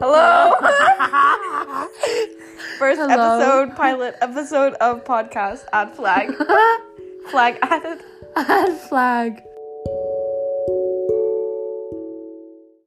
Hello. First Hello. pilot episode of podcast. Add flag. Flag added. Add flag.